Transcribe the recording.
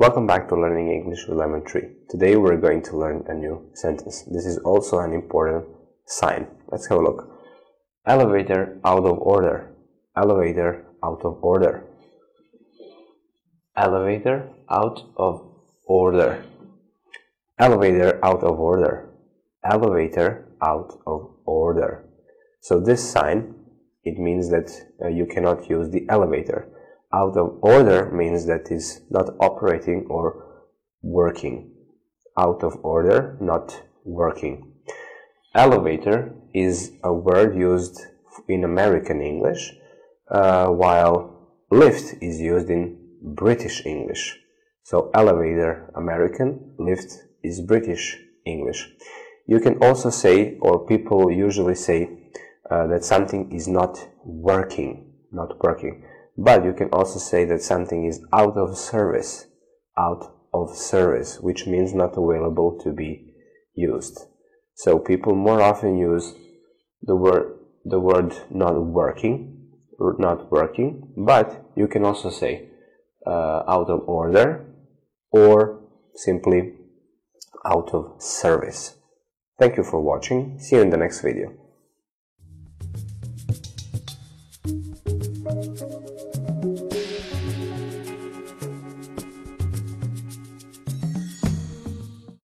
Welcome back to Learning English with Lemon Tree. Today we're going to learn a new sentence. This is also an important sign. Let's have a look. Elevator out of order. Elevator out of order. Elevator out of order. Elevator out of order. Elevator out of order. So this sign, it means that you cannot use the elevator. Out of order means that is not operating or working. Out of order, not working. Elevator is a word used in American English, while lift is used in British English. So elevator American, lift is British English. You can also say, or people usually say, that something is not working. But you can also say that something is out of service, which means not available to be used. So people more often use the word not working, but you can also say out of order or simply out of service. Thank you for watching. See you in the next video.